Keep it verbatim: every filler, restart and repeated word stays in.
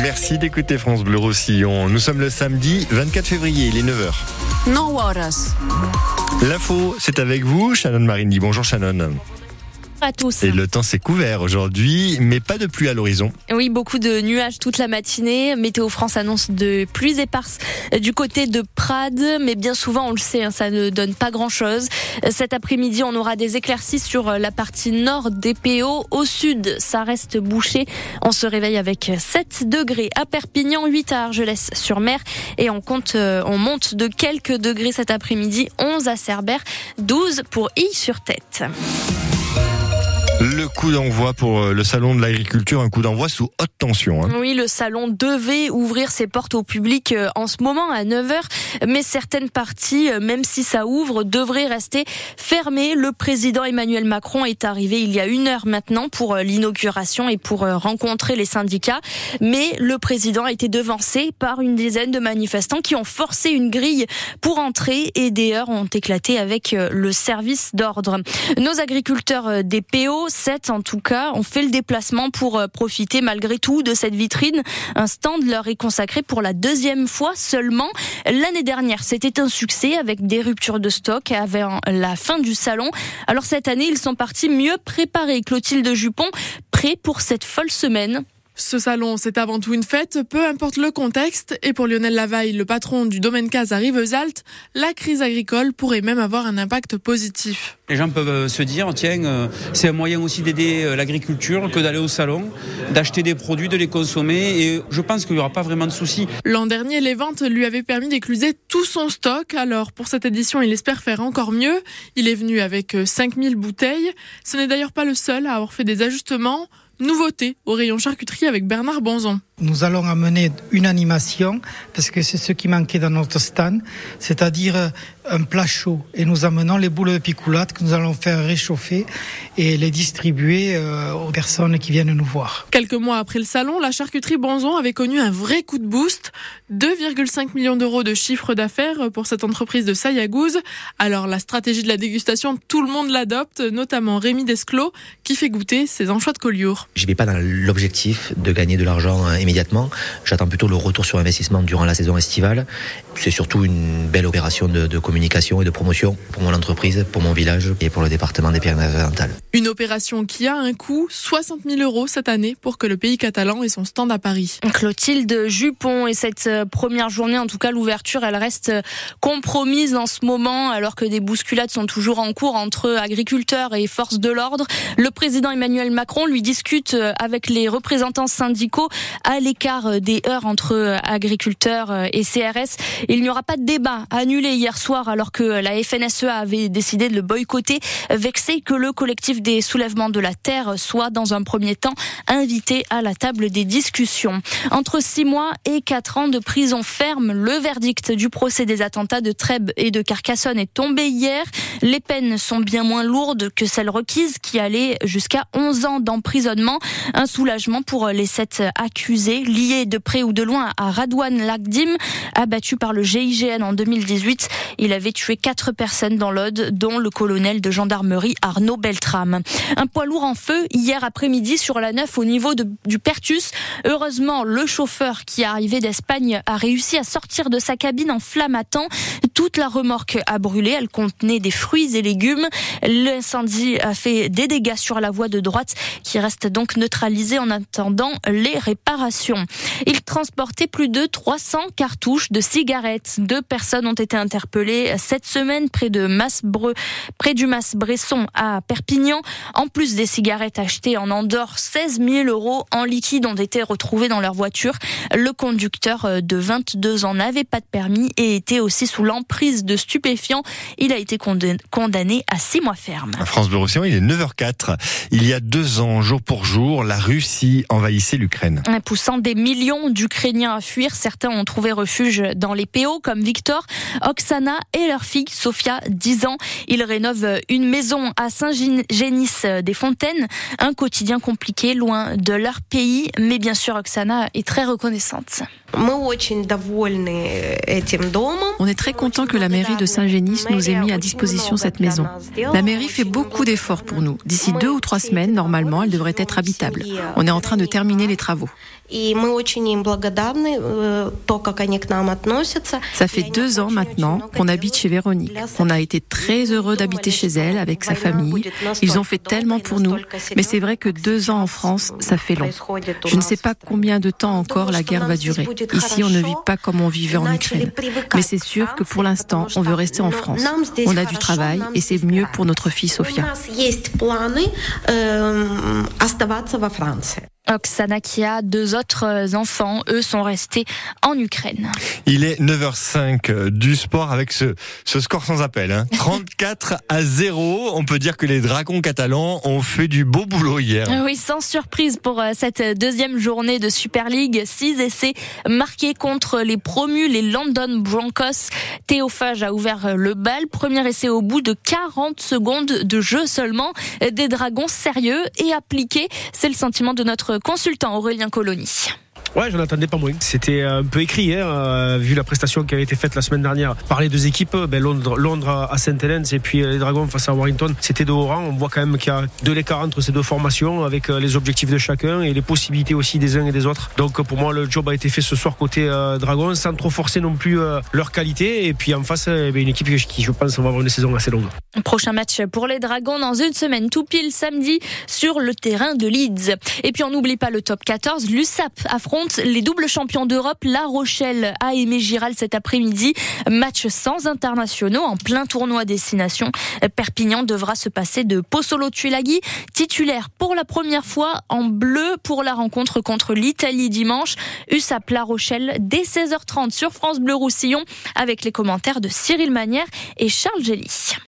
Merci d'écouter France Bleu Roussillon. Nous sommes le samedi vingt-quatre février, il est neuf heures. neuf horas. L'info, c'est avec vous, Shannon Marindi. Bonjour Shannon. À tous. Et le temps s'est couvert aujourd'hui, mais pas de pluie à l'horizon. Oui, beaucoup de nuages toute la matinée. Météo France annonce de pluies éparses du côté de Prades, mais bien souvent, on le sait, hein, ça ne donne pas grand-chose. Cet après-midi, on aura des éclaircies sur la partie nord des P O. Au sud, ça reste bouché. On se réveille avec sept degrés à Perpignan, huit à Argelès-sur-Mer, et on compte, on monte de quelques degrés cet après-midi, onze à Cerbère, douze pour Ille-sur-Tête. Le coup d'envoi pour le salon de l'agriculture, un coup d'envoi sous haute tension. Hein. Oui, le salon devait ouvrir ses portes au public en ce moment à neuf heures, mais certaines parties, même si ça ouvre, devraient rester fermées. Le président Emmanuel Macron est arrivé il y a une heure maintenant pour l'inauguration et pour rencontrer les syndicats, mais le président a été devancé par une dizaine de manifestants qui ont forcé une grille pour entrer et des heurts ont éclaté avec le service d'ordre. Nos agriculteurs des P O, sept en tout cas, ont fait le déplacement pour profiter malgré tout de cette vitrine. Un stand leur est consacré pour la deuxième fois seulement. L'année dernière, c'était un succès avec des ruptures de stock avant la fin du salon. Alors cette année, ils sont partis mieux préparés. Clotilde Jupon, prêt pour cette folle semaine. Ce salon, c'est avant tout une fête, peu importe le contexte. Et pour Lionel Lavaille, le patron du domaine Case à Rivesaltes, la crise agricole pourrait même avoir un impact positif. Les gens peuvent se dire, tiens, c'est un moyen aussi d'aider l'agriculture que d'aller au salon, d'acheter des produits, de les consommer. Et je pense qu'il n'y aura pas vraiment de soucis. L'an dernier, les ventes lui avaient permis d'écluser tout son stock. Alors, pour cette édition, il espère faire encore mieux. Il est venu avec cinq mille bouteilles. Ce n'est d'ailleurs pas le seul à avoir fait des ajustements. Nouveauté au rayon charcuterie avec Bernard Bonzon. Nous allons amener une animation, parce que c'est ce qui manquait dans notre stand, c'est-à-dire un plat chaud. Et nous amenons les boules de picoulate que nous allons faire réchauffer et les distribuer aux personnes qui viennent nous voir. Quelques mois après le salon, la charcuterie Bonzon avait connu un vrai coup de boost. deux virgule cinq millions d'euros de chiffre d'affaires pour cette entreprise de Sayagouz. Alors la stratégie de la dégustation, tout le monde l'adopte, notamment Rémi Desclos, qui fait goûter ses anchois de Collioure. Je ne vais pas dans l'objectif de gagner de l'argent immédiatement. J'attends plutôt le retour sur investissement durant la saison estivale. C'est surtout une belle opération de, de communication et de promotion pour mon entreprise, pour mon village et pour le département des Pyrénées-Orientales. Une opération qui a un coût, soixante mille euros cette année pour que le pays catalan ait son stand à Paris. Clotilde Jupon, et cette première journée, en tout cas l'ouverture, elle reste compromise en ce moment alors que des bousculades sont toujours en cours entre agriculteurs et forces de l'ordre. Le président Emmanuel Macron lui discute avec les représentants syndicaux à l'écart des heurts entre agriculteurs et C R S. Il n'y aura pas de débat annulé hier soir alors que la F N S E A avait décidé de le boycotter, vexé que le collectif des soulèvements de la terre soit dans un premier temps invité à la table des discussions. Entre six mois et quatre ans de prison ferme, le verdict du procès des attentats de Trèbes et de Carcassonne est tombé hier. Les peines sont bien moins lourdes que celles requises qui allaient jusqu'à onze ans d'emprisonnement. Un soulagement pour les sept accusés liés de près ou de loin à Radouane Lagdim, abattu par le G I G N en deux mille dix-huit. Il avait tué quatre personnes dans l'Aude, dont le colonel de gendarmerie Arnaud Beltrame. Un poids lourd en feu hier après-midi sur la neuf au niveau de, du Pertus. Heureusement, le chauffeur qui est arrivé d'Espagne a réussi à sortir de sa cabine en flammes à temps. Toute la remorque a brûlé, elle contenait des fruits et légumes. L'incendie a fait des dégâts sur la voie de droite qui reste donc neutralisée en attendant les réparations. Il transportait plus de trois cents cartouches de cigarettes. Deux personnes ont été interpellées cette semaine près de Masbre, près du Mas-Bresson à Perpignan. En plus des cigarettes achetées en Andorre, seize mille euros en liquide ont été retrouvés dans leur voiture. Le conducteur de vingt-deux ans n'avait pas de permis et était aussi sous l'emprise de stupéfiants. Il a été condamné à six mois ferme. France Bleu Roussillon, il est neuf heures quatre. Il y a deux ans, jour pour jour, la Russie envahissait l'Ukraine. Poussant des millions d'Ukrainiens à fuir, certains ont trouvé refuge dans les P O comme Victor, Oksana et leur fille Sofia, dix ans. Ils rénovent une maison à Saint-Génis-des-Fontaines. Un quotidien compliqué, loin de leur pays. Mais bien sûr, Oksana est très reconnaissante. On est très content que la mairie de Saint-Génis nous ait mis à disposition cette maison. La mairie fait beaucoup d'efforts pour nous. D'ici deux ou trois semaines, normalement, elle devrait être habitable. On est en train de terminer les travaux. Ça fait deux ans maintenant qu'on habite chez Véronique. On a été très heureux d'habiter chez elle avec sa famille. Ils ont fait tellement pour nous. Mais c'est vrai que deux ans en France, ça fait long. Je ne sais pas combien de temps encore la guerre va durer. Ici, on ne vit pas comme on vivait en Ukraine. Mais c'est sûr que pour l'instant, on veut rester en France. On a du travail et c'est mieux pour notre fille Sofia. Oksana qui a deux autres enfants, eux sont restés en Ukraine. Il est neuf heures cinq du sport avec ce, ce score sans appel. Hein. trente-quatre à zéro. On peut dire que les Dragons catalans ont fait du beau boulot hier. Oui, sans surprise pour cette deuxième journée de Super League. Six essais marqués contre les promus, les London Broncos. Théo Fage a ouvert le bal. Premier essai au bout de quarante secondes de jeu seulement. Des Dragons sérieux et appliqués. C'est le sentiment de notre consultant Aurélien Colony. Ouais, j'en attendais pas moins. C'était un peu écrit, hein, euh, vu la prestation qui avait été faite la semaine dernière par les deux équipes. Ben Londres, Londres à Saint Helens et puis les Dragons face à Warrington. C'était de haut rang. On voit quand même qu'il y a de l'écart entre ces deux formations avec les objectifs de chacun et les possibilités aussi des uns et des autres. Donc pour moi, le job a été fait ce soir côté euh, Dragons sans trop forcer non plus euh, leur qualité. Et puis en face, euh, ben, une équipe qui, je pense, va avoir une saison assez longue. Prochain match pour les Dragons dans une semaine, tout pile samedi sur le terrain de Leeds. Et puis on n'oublie pas le top quatorze. L'U S A P affronte les doubles champions d'Europe, La Rochelle à Aimé Giral cet après-midi. Match sans internationaux en plein tournoi destination. Perpignan devra se passer de Pozzolo Tulagi, titulaire pour la première fois en bleu pour la rencontre contre l'Italie dimanche. U S A P La Rochelle dès seize heures trente sur France Bleu Roussillon avec les commentaires de Cyril Manière et Charles Gély.